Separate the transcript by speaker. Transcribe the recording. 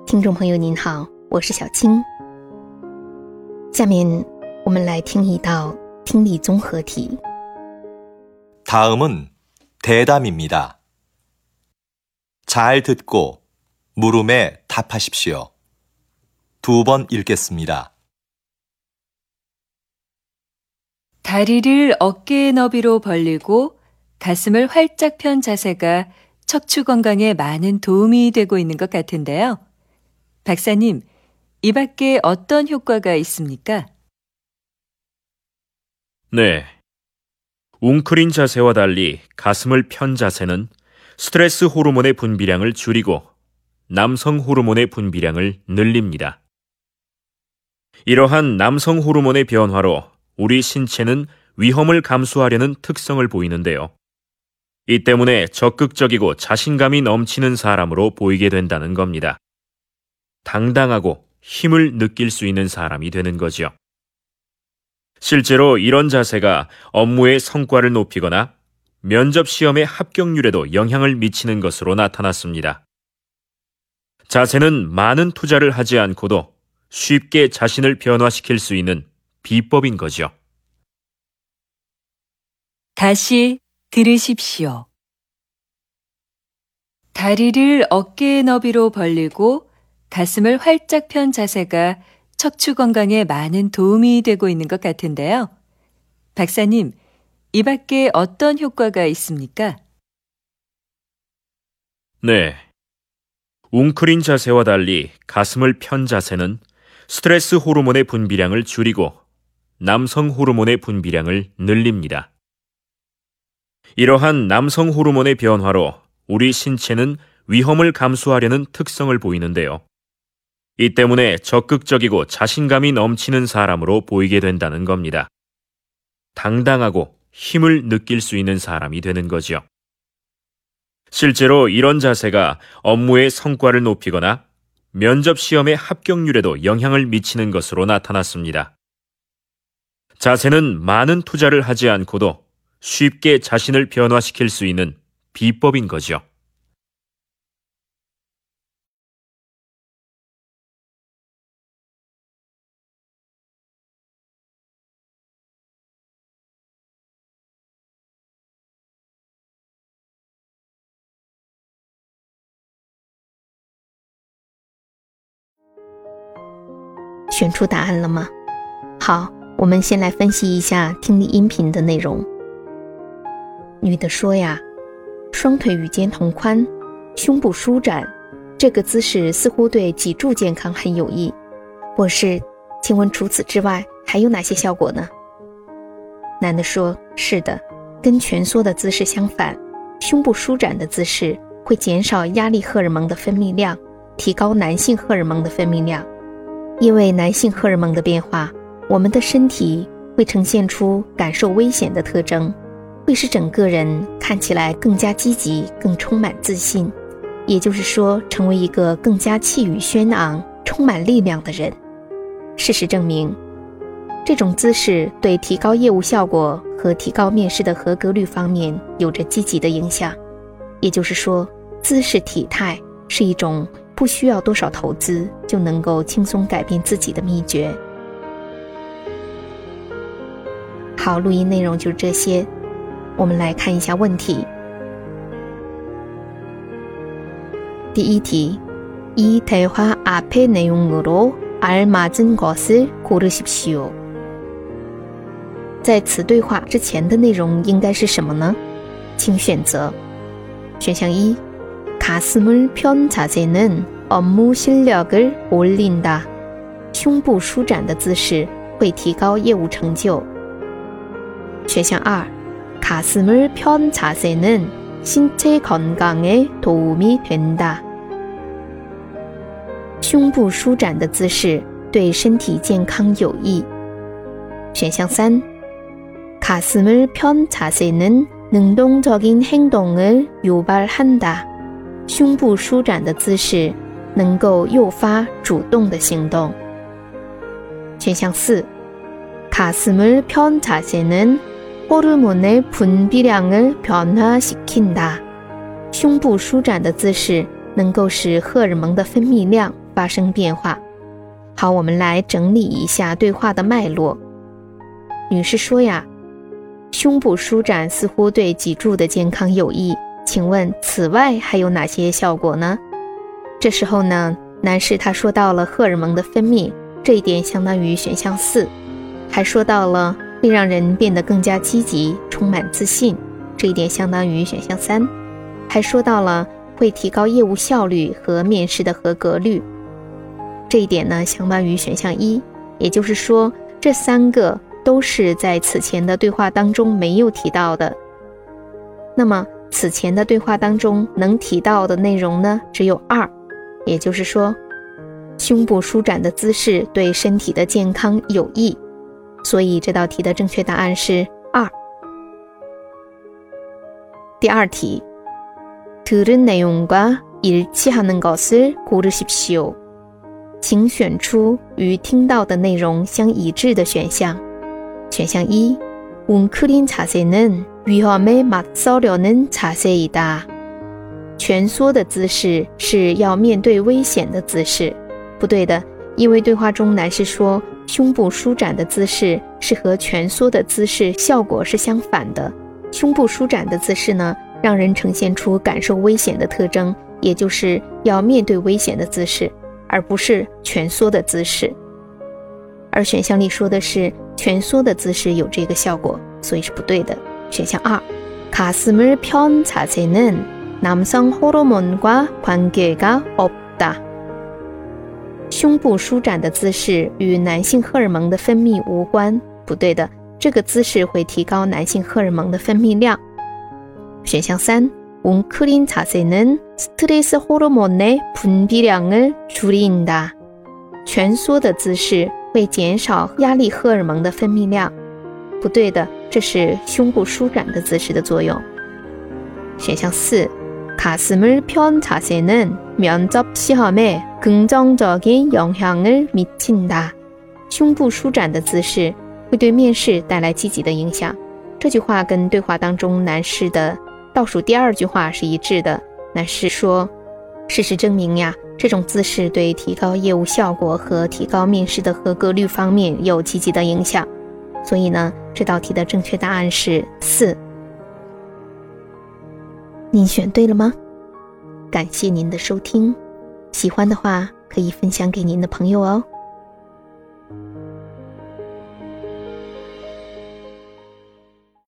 Speaker 1: 听众朋友您好，我是小青。下面我们来听一道听力综合题。
Speaker 2: 다음은 대담입니다. 잘 듣고 물음에 답하십시오. 2번 읽겠습니다.
Speaker 3: 다리를 어깨 너비로 벌리고 가슴을 활짝 편 자세가 척추 건강에 많은 도움이 되고 있는 것 같은데요. 박사님, 이 밖에 어떤 효과가 있습니까?
Speaker 4: 네. 웅크린 자세와 달리 가슴을 편 자세는 스트레스 호르몬의 분비량을 줄이고 남성 호르몬의 분비량을 늘립니다. 이러한 남성 호르몬의 변화로 우리 신체는 위험을 감수하려는 특성을 보이는데요. 이 때문에 적극적이고 자신감이 넘치는 사람으로 보이게 된다는 겁니다. 당당하고 힘을 느낄 수 있는 사람이 되는 거죠. 실제로 이런 자세가 업무의 성과를 높이거나 면접 시험의 합격률에도 영향을 미치는 것으로 나타났습니다. 자세는 많은 투자를 하지 않고도 쉽게 자신을 변화시킬 수 있는 비법인 거죠.
Speaker 3: 다시 들으십시오. 다리를 어깨 너비로 벌리고 가슴을 활짝 편 자세가 척추 건강에 많은 도움이 되고 있는 것 같은데요. 박사님, 이 밖에 어떤 효과가 있습니까?
Speaker 4: 네. 웅크린 자세와 달리 가슴을 편 자세는 스트레스 호르몬의 분비량을 줄이고 남성 호르몬의 분비량을 늘립니다. 이러한 남성 호르몬의 변화로 우리 신체는 위험을 감수하려는 특성을 보이는데요. 이 때문에 적극적이고 자신감이 넘치는 사람으로 보이게 된다는 겁니다. 당당하고 힘을 느낄 수 있는 사람이 되는 거죠. 실제로 이런 자세가 업무의 성과를 높이거나 면접 시험의 합격률에도 영향을 미치는 것으로 나타났습니다. 자세는 많은 투자를 하지 않고도 쉽게 자신을 변화시킬 수 있는 비법인 거죠.
Speaker 1: 选出答案了吗？好，我们先来分析一下听力音频的内容。女的说呀，双腿与肩同宽，胸部舒展，这个姿势似乎对脊柱健康很有益。博士，请问除此之外还有哪些效果呢？男的说，是的，跟蜷缩的姿势相反，胸部舒展的姿势会减少压力荷尔蒙的分泌量，提高男性荷尔蒙的分泌量。因为男性荷尔蒙的变化，我们的身体会呈现出感受危险的特征，会使整个人看起来更加积极，更充满自信，也就是说，成为一个更加气宇轩昂、充满力量的人。事实证明，这种姿势对提高业务效果和提高面试的合格率方面有着积极的影响。也就是说，姿势体态是一种不需要多少投资就能够轻松改变自己的秘诀。好，录音内容就是这些，我们来看一下问题。第一题，이 대화 앞의 내용으로 알맞은 것을 고르십시오。在此对话之前的内容应该是什么呢？请选择。选项一， 가슴을 편 자세는 업무 실력을 올린다。胸部舒展的姿势会提高业务成就。选项二， 가슴을 편 자세는 신체 건강에 도움이 된다。胸部舒展的姿势对身体健康有益。选项三， 가슴을 편 자세는 능동적인 행동을 유발한다。胸部舒展的姿势能够诱发主动的行动。选项四， 가슴을 편 자세는 호르몬의 분비량을 변화시킨다。胸部舒展的姿势能够使荷尔蒙的分泌量发生变化。好，我们来整理一下对话的脉络。女士说呀，胸部舒展似乎对脊柱的健康有益，请问此外还有哪些效果呢？这时候呢，男士他说到了荷尔蒙的分泌，这一点相当于选项4，还说到了会让人变得更加积极，充满自信，这一点相当于选项3，还说到了会提高业务效率和面试的合格率，这一点呢相当于选项1，也就是说这3个都是在此前的对话当中没有提到的。那么此前的对话当中能提到的内容呢只有2，也就是说胸部舒展的姿势对身体的健康有益，所以这道题的正确答案是2。第二题，들은 내용과 일치하는 것을 고르십시오。请选出与听到的内容相一致的选项。选项1， 웅크린 자세는 위험에 맞서려는 자세이다。蜷缩的姿势是要面对危险的姿势。不对的，因为对话中男士说胸部舒展的姿势是和蜷缩的姿势效果是相反的。胸部舒展的姿势呢，让人呈现出感受危险的特征，也就是要面对危险的姿势，而不是蜷缩的姿势。而选项里说的是蜷缩的姿势有这个效果，所以是不对的。选项2， 가슴을 편 자세는 남성 호르몬과 관계가 없다。胸部舒展的姿势与男性荷尔蒙的分泌无关，不对的，这个姿势会提高男性荷尔蒙的分泌量。选项3， 웅크린 자세는 스트레스 호르몬의 분비량을 줄인다。蜷缩的姿势会减少压力荷尔蒙的分泌量，不对的，这是胸部舒展的姿势的作用。选项4， 가슴을 편 자세는 면접 시험에 긍정적인 영향을 미친다。胸部舒展的姿势会对面试带来积极的影响。这句话跟对话当中男士的倒数第2句话是一致的。男士说，事实证明呀，这种姿势对提高业务效果和提高面试的合格率方面有积极的影响。所以呢，这道题的正确答案是4。您选对了吗？感谢您的收听，喜欢的话可以分享给您的朋友哦。